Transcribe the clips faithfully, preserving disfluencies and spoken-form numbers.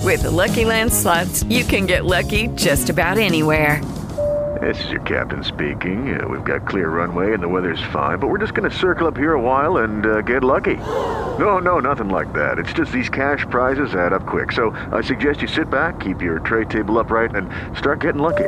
With the Lucky Land Slots, you can get lucky just about anywhere. This is your captain speaking. Uh, we've got clear runway and the weather's fine, but we're just going to circle up here a while and uh, get lucky. No, no, nothing like that. It's just these cash prizes add up quick. So I suggest you sit back, keep your tray table upright, and start getting lucky.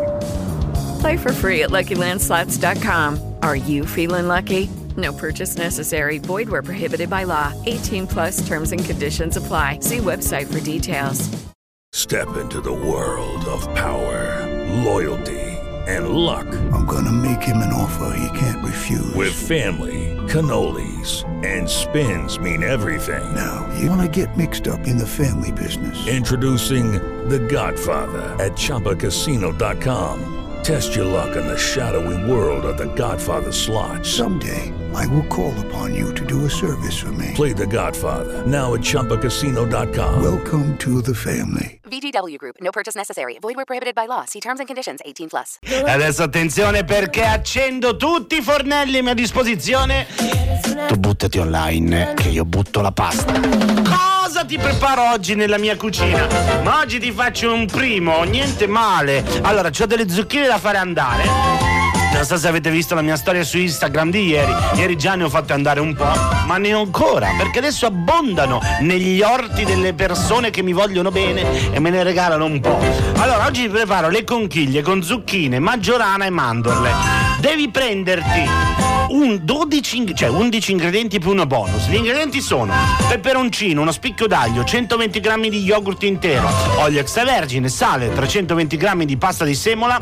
Play for free at Lucky Land Slots dot com. Are you feeling lucky? No purchase necessary. Void where prohibited by law. eighteen plus terms and conditions apply. See website for details. Step into the world of power, loyalty, and luck. I'm gonna make him an offer he can't refuse. With family, cannolis, and spins mean everything. Now, you wanna get mixed up in the family business. Introducing The Godfather at Chumba Casino dot com. Test your luck in the shadowy world of The Godfather slot. Someday, I will call upon you to do a service for me. Play The Godfather, now at Chumba Casino dot com. Welcome to the family. V G W Group. No purchase necessary. Void where prohibited by law. See terms and conditions. eighteen plus. Adesso attenzione, perché accendo tutti i fornelli a mia disposizione. Tu buttati online, che io butto la pasta. Cosa ti preparo oggi nella mia cucina? Ma oggi ti faccio un primo, niente male. Allora, c'ho delle zucchine da fare andare. Non so se avete visto la mia storia su Instagram di ieri. Ieri già ne ho fatte andare un po', ma ne ho ancora, perché adesso abbondano negli orti delle persone che mi vogliono bene e me ne regalano un po'. Allora, oggi preparo le conchiglie con zucchine, maggiorana e mandorle. Devi prenderti un dodici, cioè undici ingredienti più uno bonus. Gli ingredienti sono peperoncino, uno spicchio d'aglio, centoventi grammi di yogurt intero, olio extravergine, sale, trecentoventi grammi di pasta di semola,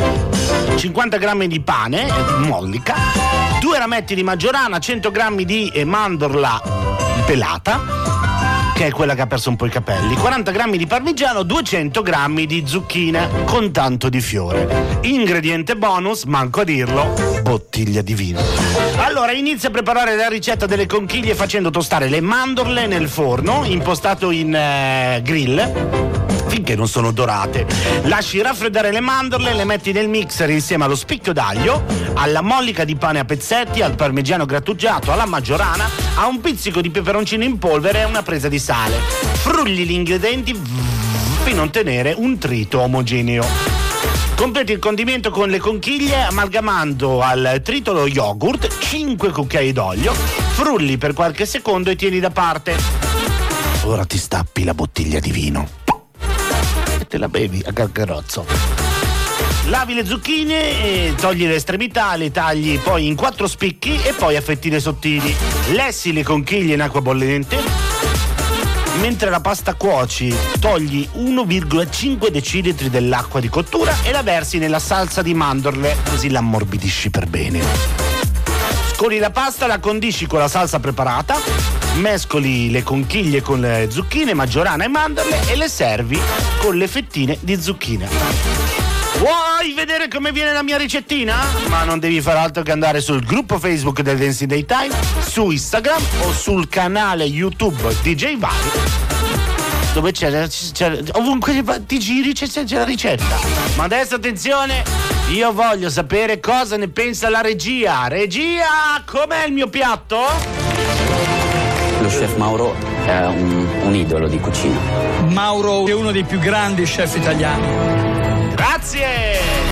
cinquanta grammi di pane, mollica, due rametti di maggiorana, cento grammi di mandorla pelata, che è quella che ha perso un po' i capelli, quaranta grammi di parmigiano, duecento grammi di zucchine con tanto di fiore. Ingrediente bonus, manco a dirlo, bottiglia di vino. Allora, inizia a preparare la ricetta delle conchiglie facendo tostare le mandorle nel forno, impostato in eh, grill, finché non sono dorate. Lasci raffreddare le mandorle, le metti nel mixer insieme allo spicchio d'aglio, alla mollica di pane a pezzetti, al parmigiano grattugiato, alla maggiorana, a un pizzico di peperoncino in polvere e una presa di sale. Frulli gli ingredienti fino a ottenere un trito omogeneo. Completi il condimento con le conchiglie amalgamando al trito lo yogurt, cinque cucchiai d'olio, frulli per qualche secondo e tieni da parte. Ora ti stappi la bottiglia di vino e te la bevi a calcarozzo. Lavi le zucchine e togli le estremità, le tagli poi in quattro spicchi e poi a fettine sottili. Lessi le conchiglie in acqua bollente. Mentre la pasta cuoci, togli uno virgola cinque decilitri dell'acqua di cottura e la versi nella salsa di mandorle, così la ammorbidisci per bene. Scoli la pasta, la condisci con la salsa preparata, mescoli le conchiglie con le zucchine, maggiorana e mandorle e le servi con le fettine di zucchine. Vuoi vedere come viene la mia ricettina? Ma non devi fare altro che andare sul gruppo Facebook del Dancing Daytime, su Instagram o sul canale YouTube D J Vari, dove c'è, c'è ovunque ti giri c'è, c'è la ricetta. Ma adesso attenzione, io voglio sapere cosa ne pensa la regia. Regia, com'è il mio piatto? Lo chef Mauro è un, un idolo di cucina. Mauro è uno dei più grandi chef italiani. Grazie!